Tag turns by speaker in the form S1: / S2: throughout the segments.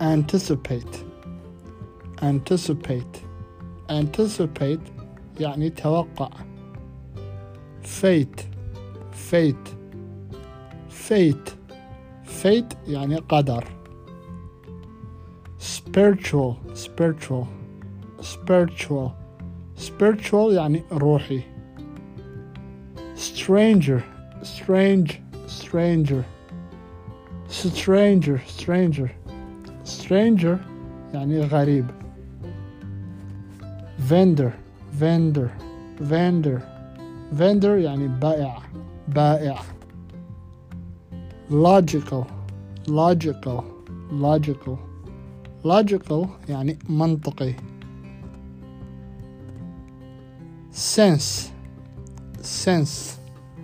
S1: anticipate anticipate anticipate يعني توقع. fate fate fate fate يعني قدر. spiritual spiritual spiritual spiritual يعني روحي. stranger strange stranger stranger stranger stranger يعني غريب. vendor vendor vendor vendor يعني بائع بائع. logical logical logical logical يعني منطقي. sense sense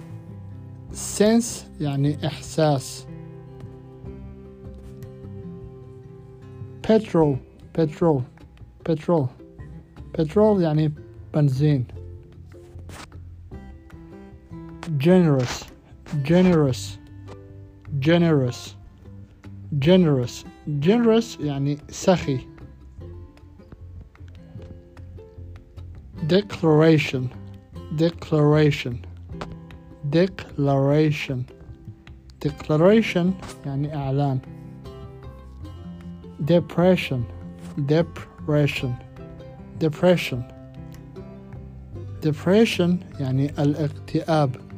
S1: sense يعني إحساس. petrol petrol petrol petrol يعني بنزين. generous generous generous generous generous يعني سخي. declaration declaration declaration declaration يعني إعلان. depression depression depression depression يعني الاكتئاب.